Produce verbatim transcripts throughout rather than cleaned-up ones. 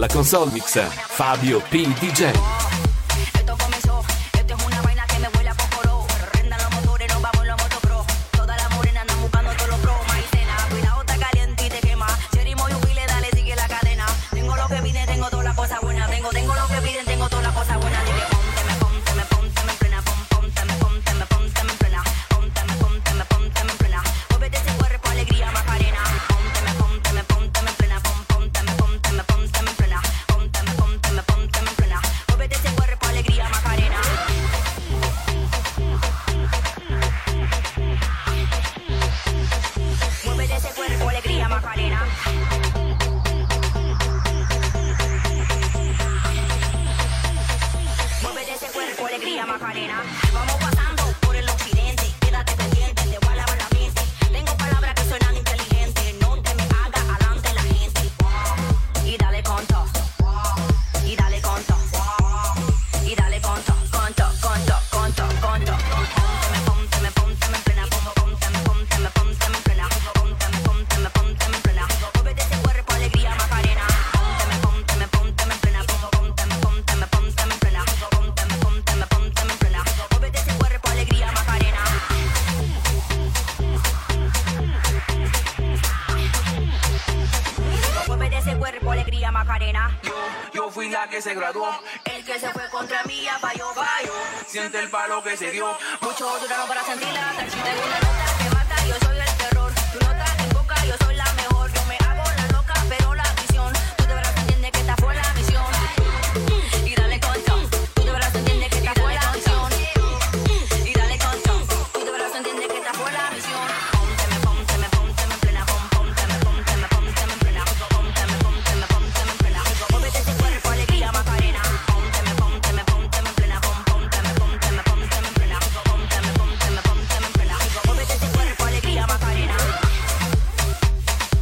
alla console mix Fabio P. D J. Se graduó, el que se fue contra mí ya falló, falló. Siente el palo que se dio. Mucho duraron para sentirla. Si tengo una nota que mata, yo soy el terror. Tu nota en boca, yo soy la mejor. Yo me hago la loca, pero la visión. Tú de verdad entiendes que esta fue la misión. Y dale con tú de verdad entiendes que esta fue la misión. Y dale con tú de verdad entiendes que esta fue la misión. Pónteme, pónteme, pónteme en plena. Pónteme, pónteme, pónteme en plena. Pónteme, pónteme, pónteme en plena. Móvete ese cuerpo, alegría, Macarena. Pónteme, pónteme, pónteme en plena. Pónteme, pónteme, pónteme en plena. Pónteme, pónteme, pónteme en plena. Móvete ese cuerpo, alegría, Macarena.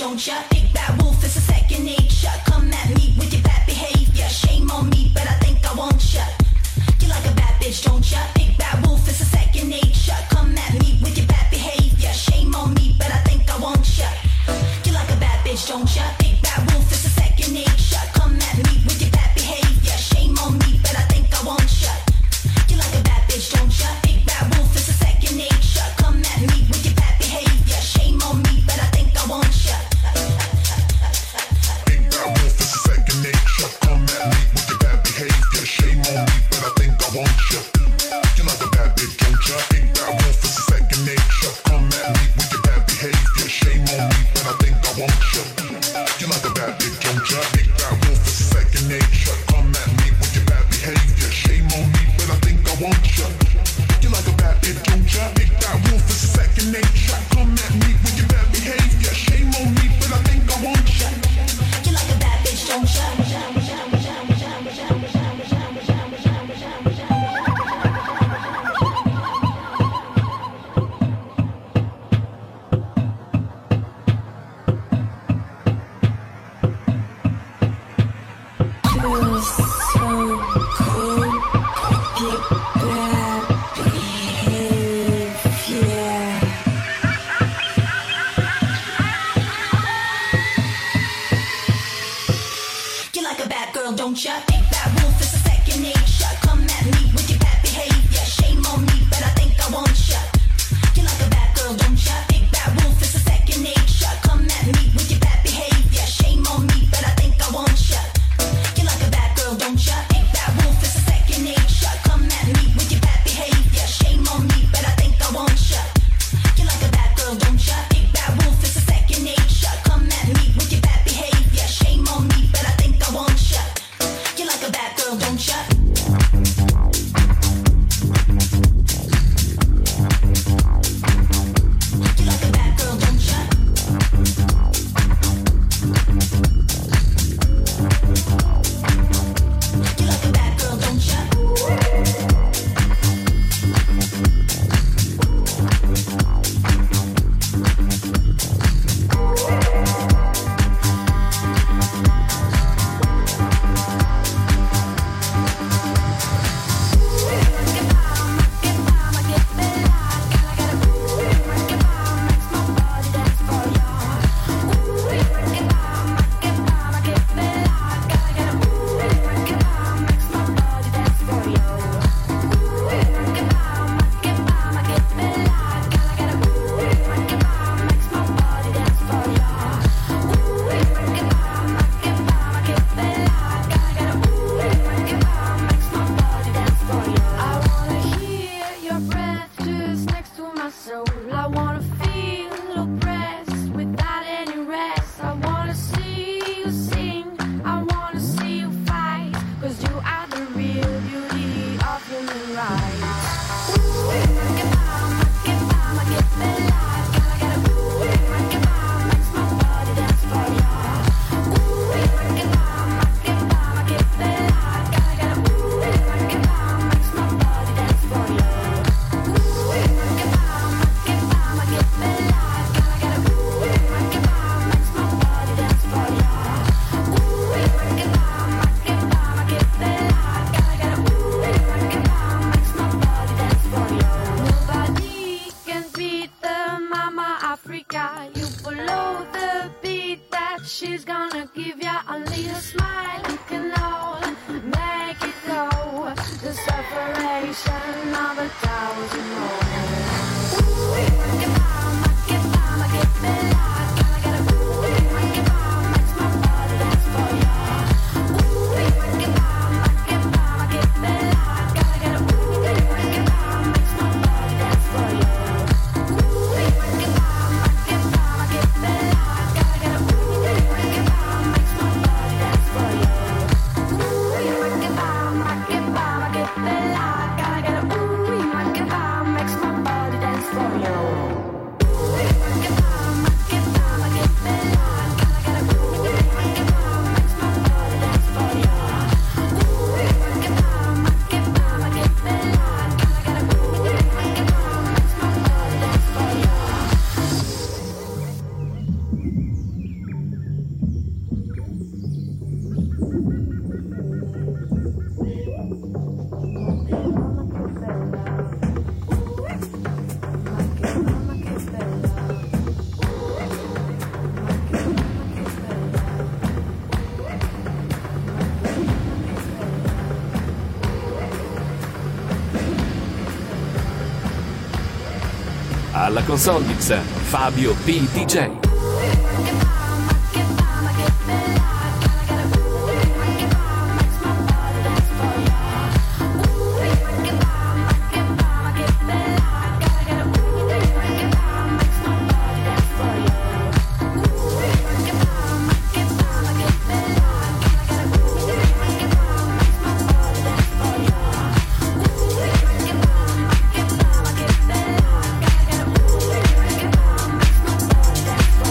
don't ya? Big bad wolf is a second nature. Come at me with your bad behavior. Shame on me, but I think I want ya. You like a bad bitch, don't ya? Big bad wolf is a second nature. Come at me with your bad behavior. Shame on me, but I think I want ya. You like a bad bitch, don't ya? Big bad wolf is a second nature. Come at me with your bad behavior. Shame on me, but I think I want ya. You like a bad bitch, don't ya? Big bad wolf is a second nature. Come at me with your bad behavior. Shame on me, but I think I want ya. Big bad wolf is a second nature. Come at me with your bad behavior. Shame on me, but I think I want ya. You like a bad bitch, don't ya? Big bad wolf is a second nature. Come at me with your bad behavior. Shame on me, but I think I want ya. You like a bad bitch, don't ya? Big bad wolf is a second nature. Come at me with your bad behavior. Shame on me, but I think I want ya. You like a bad bitch, don't ya? Big bad wolf is a second nature. Come at me with your bad behavior. Shame on me, but I think I want ya. You like a bad bitch, don't ya? You like a bad girl, don't ya? Big bad wolf is a second nature. Come at me with your bad behavior. Shame on me, but I think I want ya. You like a bad girl, don't ya? Big bad wolf is a second nature. Come at me with your bad behavior. Shame on me, but I think I want ya. You like a bad girl, don't ya? Big bad wolf is a second nature. Come at me with your bad behavior. Shame on me, but I think I want ya. You like a bad girl, don't ya? Big bad wolf is a second nature. Come at me with your bad behavior. Shame on me, but I think I want ya. You Alla console mix Fabio P. D J. Bye.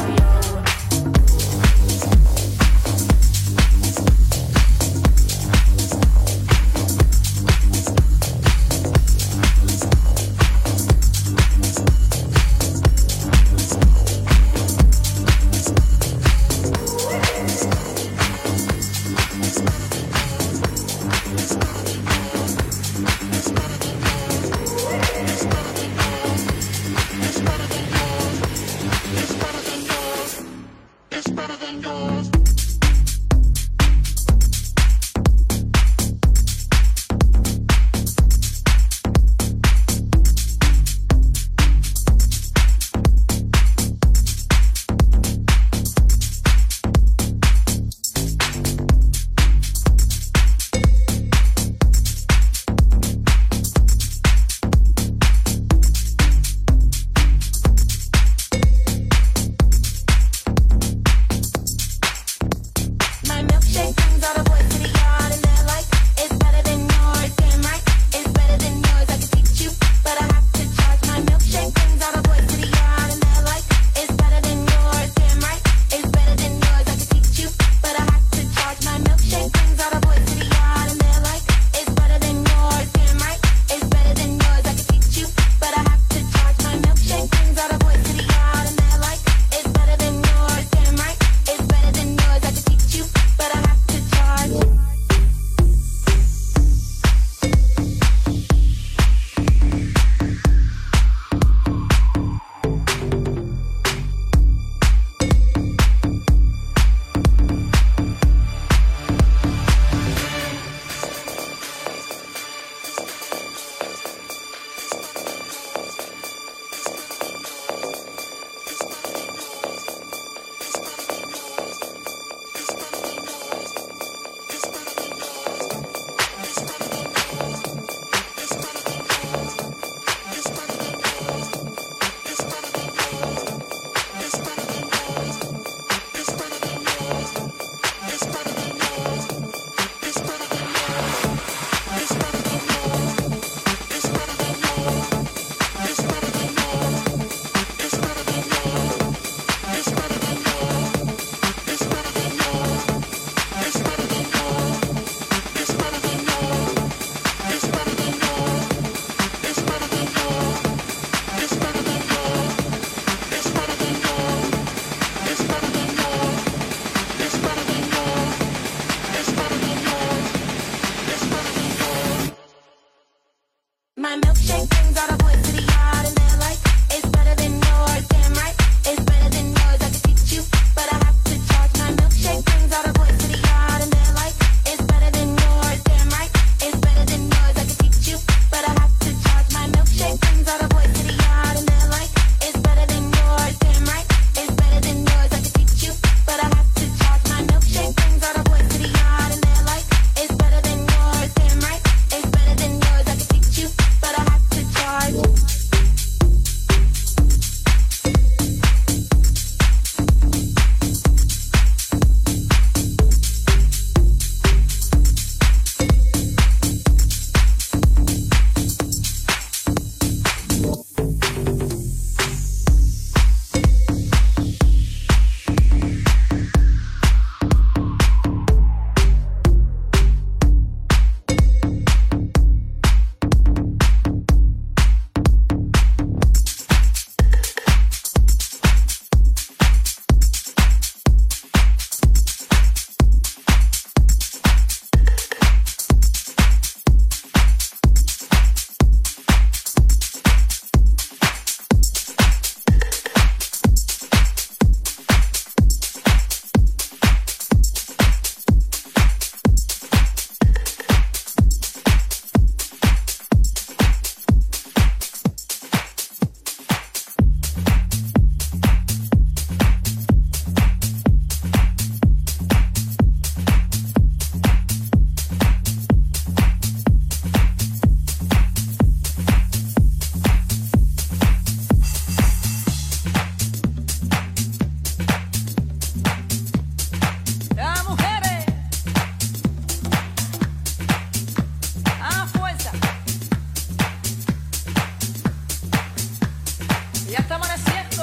Ya está amaneciendo.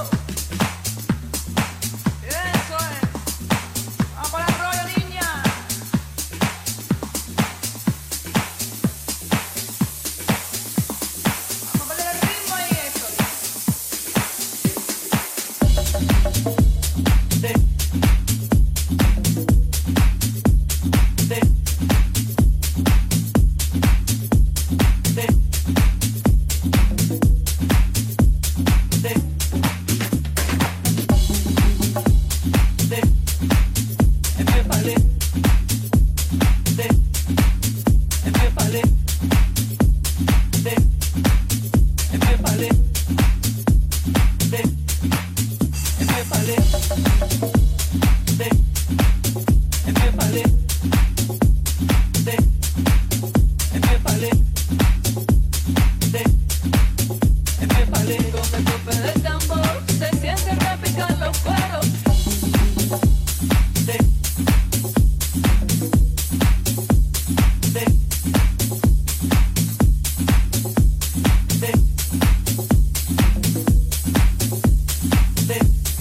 Eso es. Vamos para el rollo, niña. Vamos a poner el ritmo ahí, eso. De, de, de, de, de, empépale, de, empépale, de, empépale, de, empépale, de, empépale, de, empépale, de, empépale. Con el golpe del tambor se siente repicar los cueros. De, de, de, de.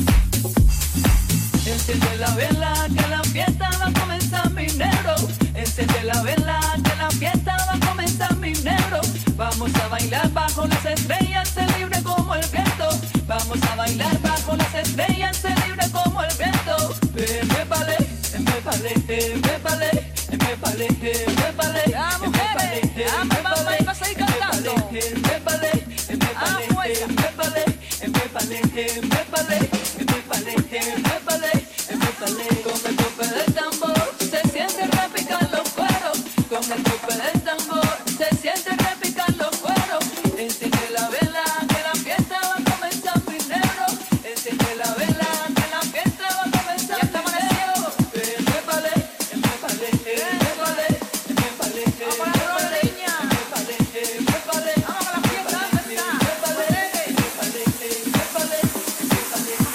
Enciende la vela que la fiesta va a comenzar, mi negro. Enciende la vela que la fiesta va a comenzar, mi negro. Vamos a bailar bajo las estrellas, se libre como el viento. Vamos a bailar bajo las estrellas, se libre como el viento. Empépale, empépale, empépale, empépale, empépale. Ya, mujeres, ya, mamá, vamos a seguir cantando. Empépale, empépale, empépale, empépale, empépale, empépale, empépale, empépale. Con el golpe del tambor se siente repicar los cueros. Con el golpe del tambor se siente repicar los cueros. Enciende la vela que la fiesta va a comenzar, mi negro. Enciende la vela que la fiesta va a comenzar, mi negro. Empépale, empépale, empépale, empépale, empépale, empépale, empépale. Vamos a la fiesta, ¿dónde está? Empépale, empépale, empépale, empépale.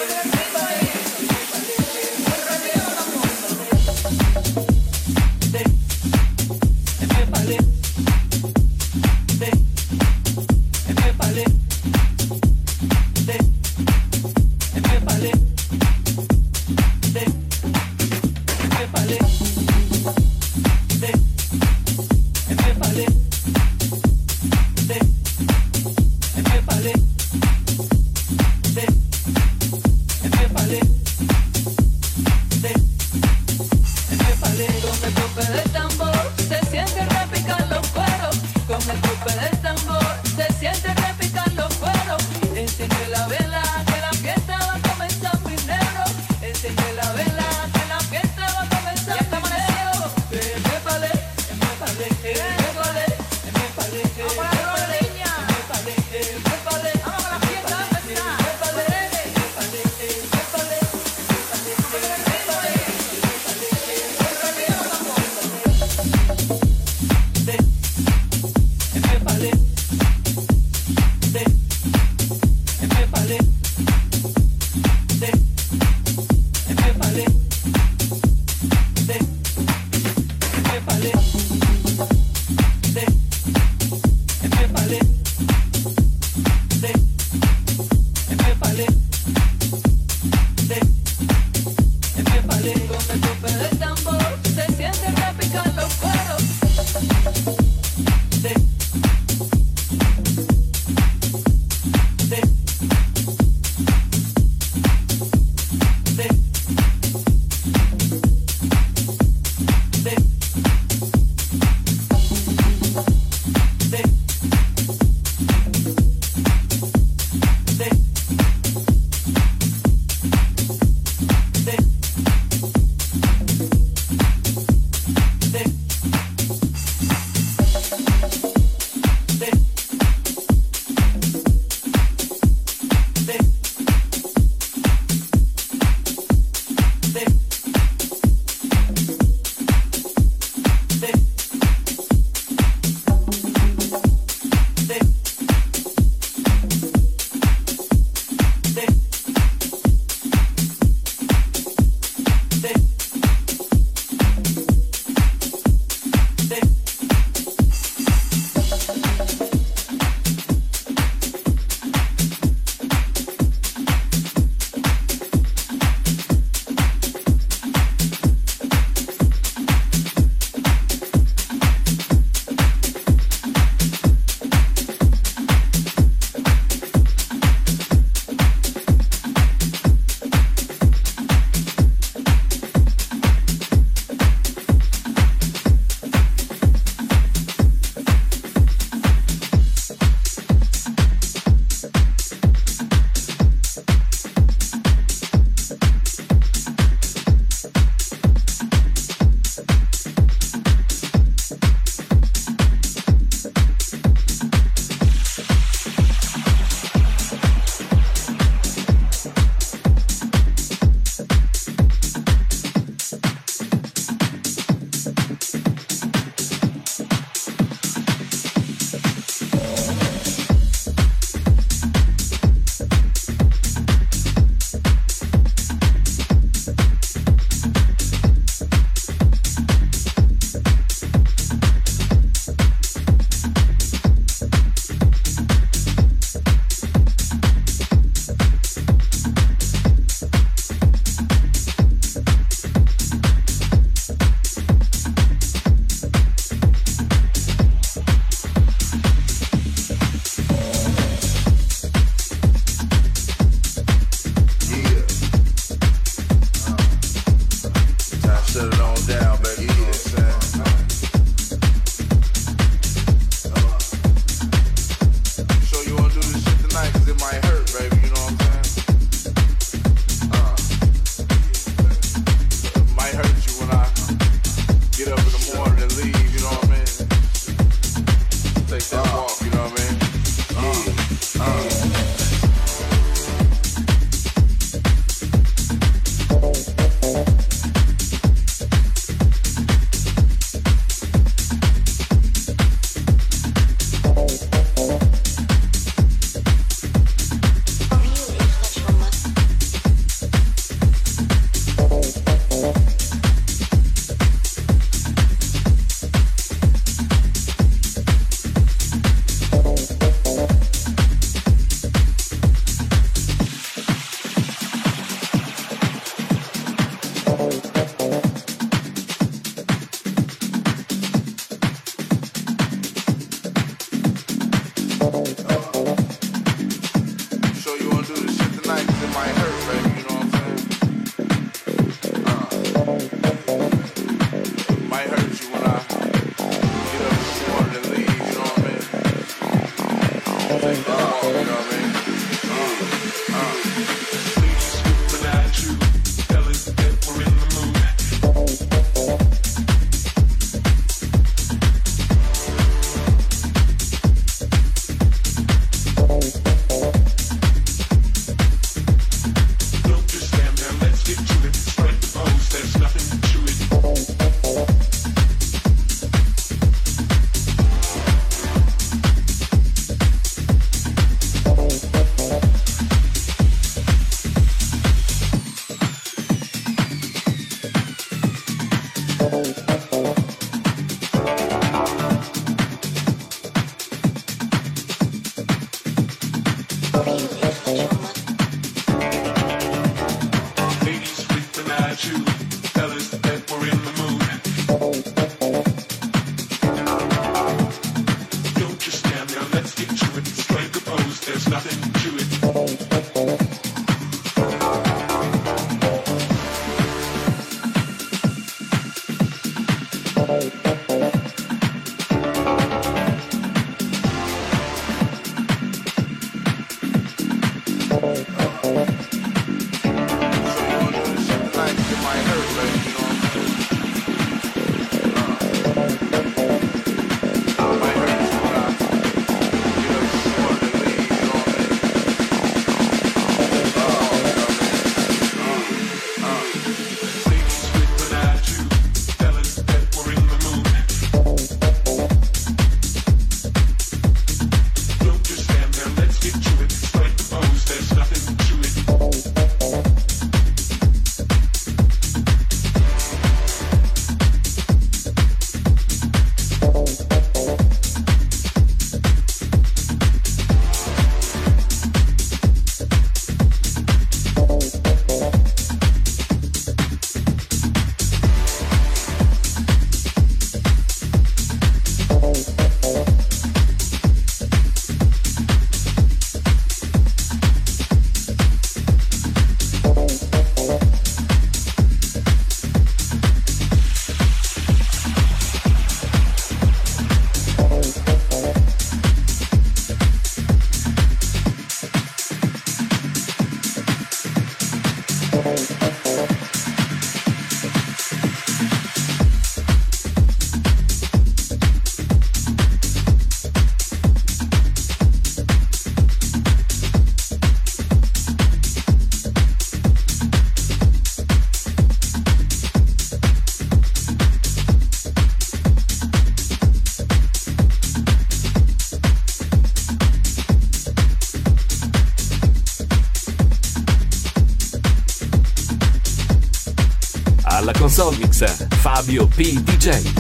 Alla console mix Fabio P. D J.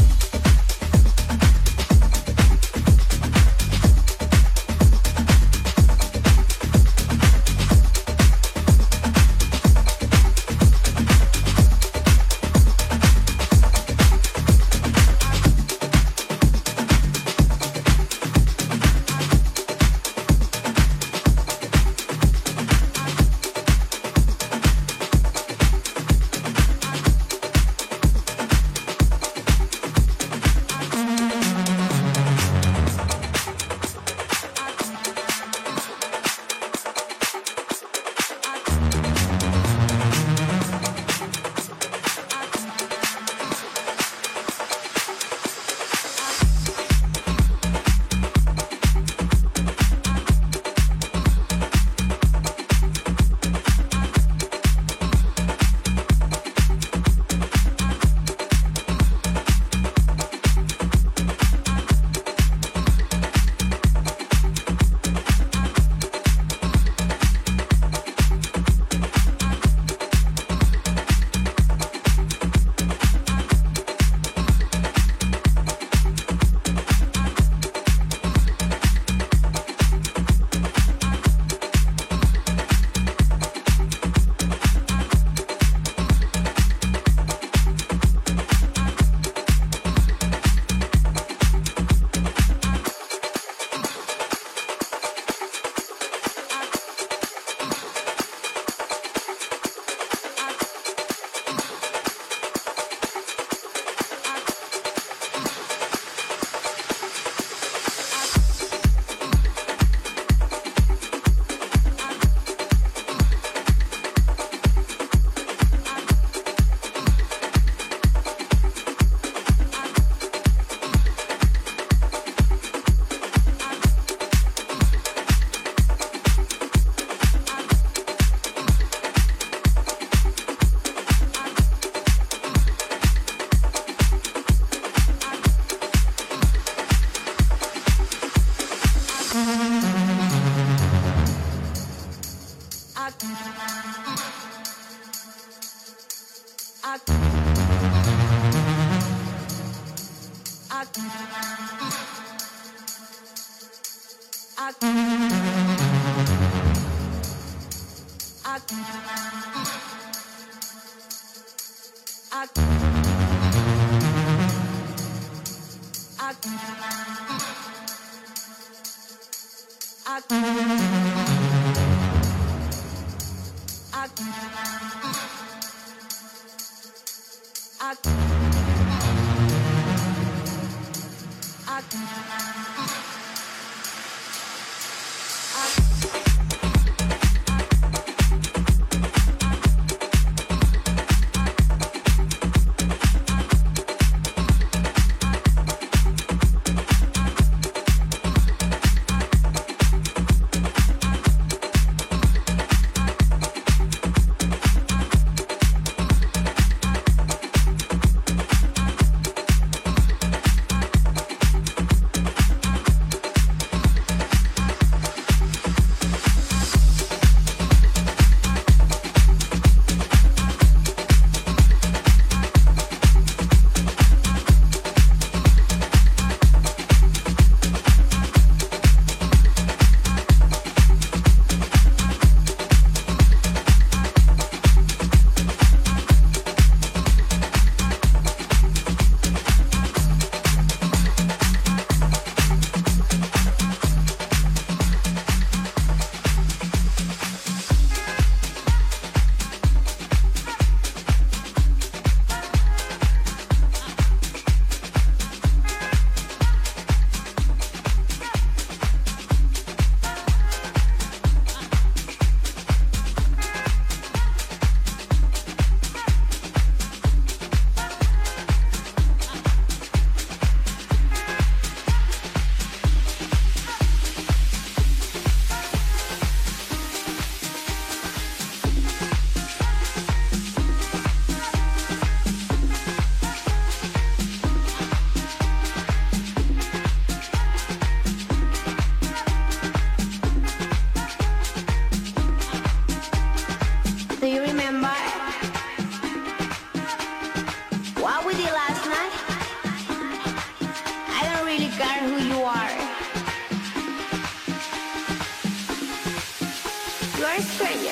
You are a stranger.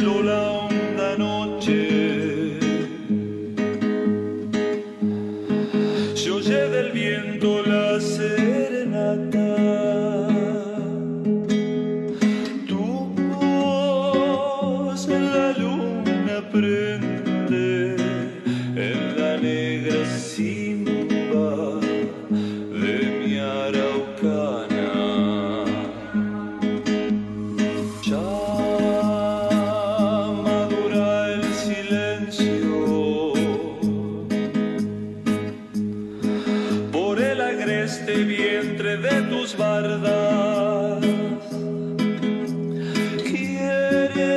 cielo la honda noche, se oye del viento la serenata, tu voz en la luna prende en la negra simba de mi araucana. Ya madura el silencio por el agreste vientre de tus bardas. Quiere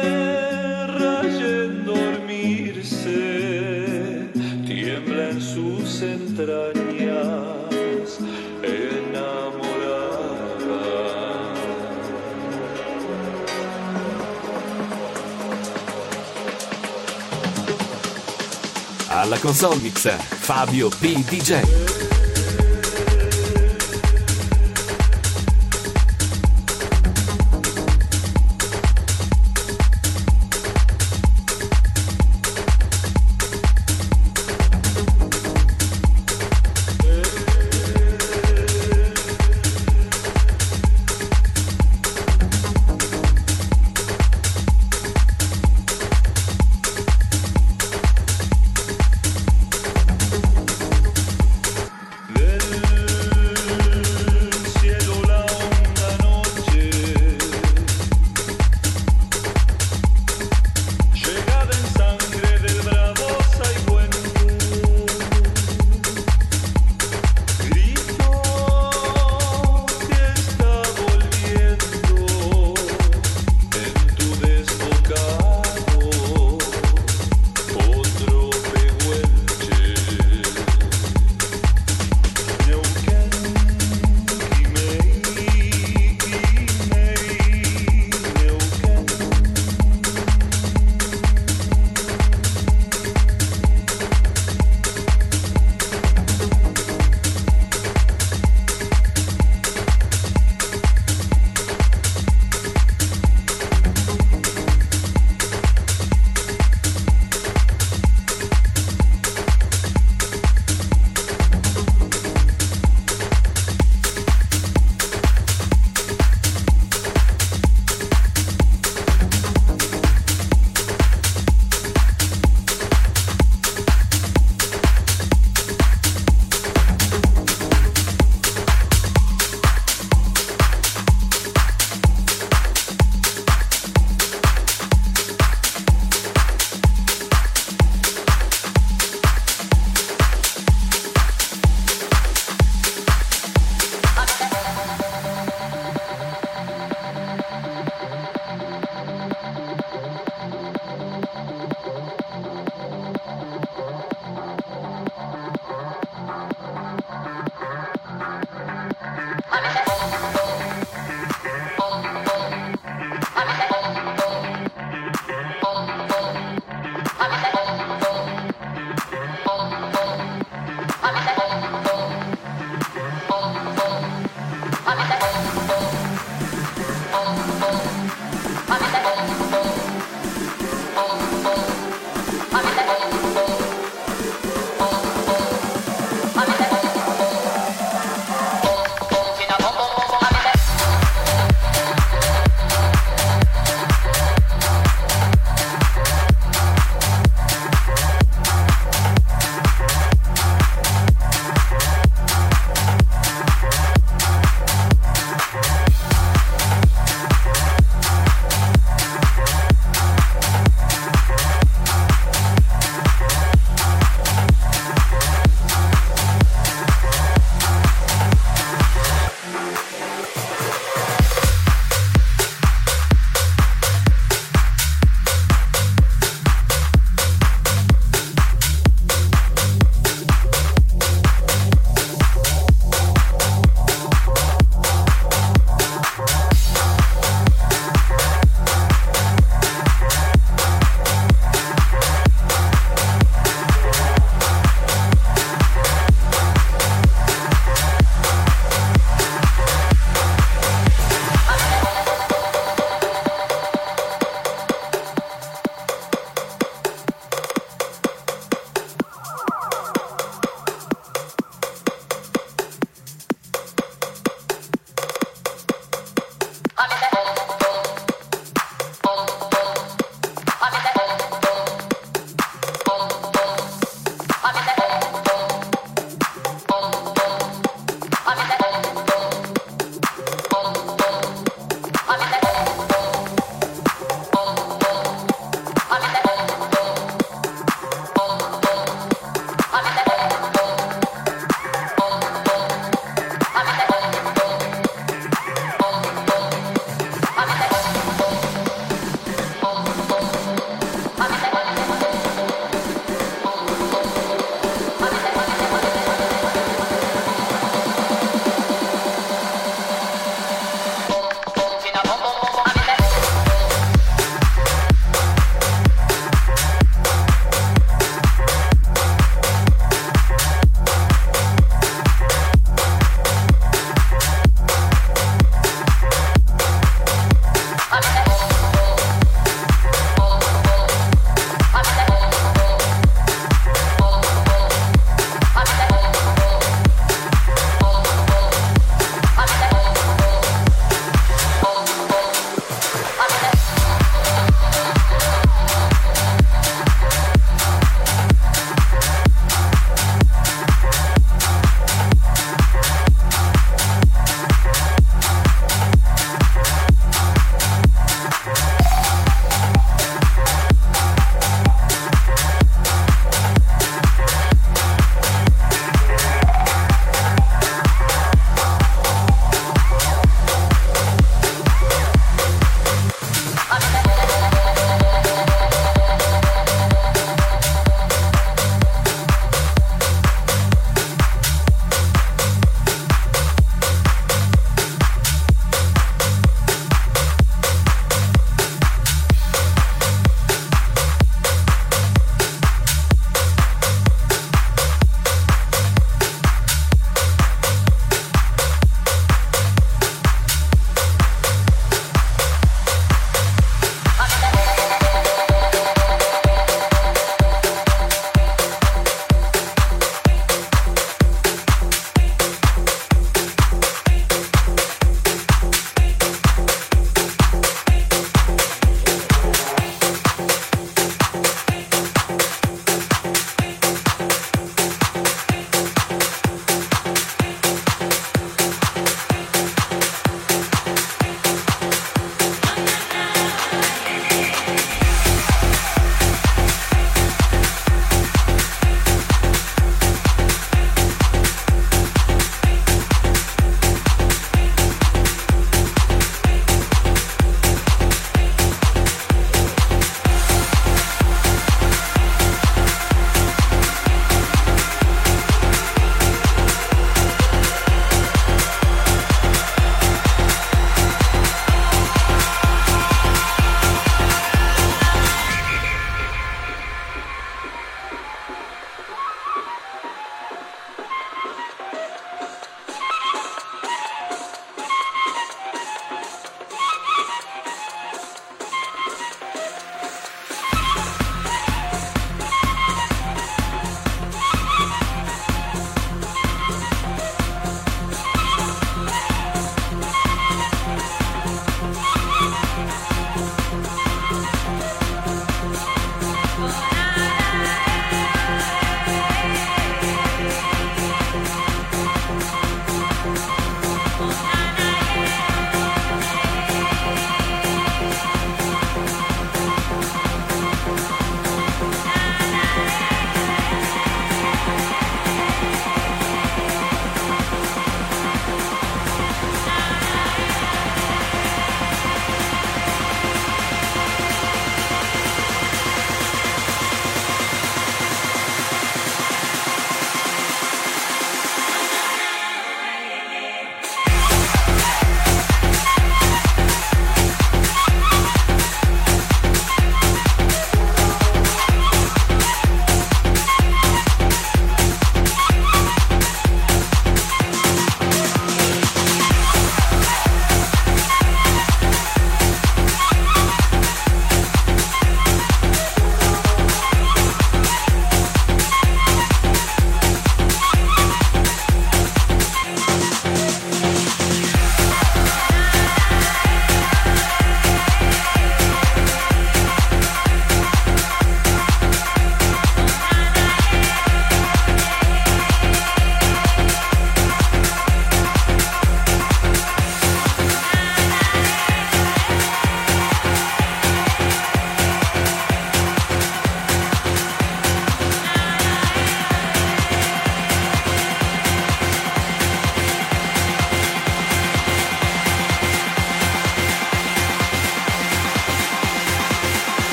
rayen dormirse, tiembla en sus entrañas enamorada. Alla console mix Fabio P. D J.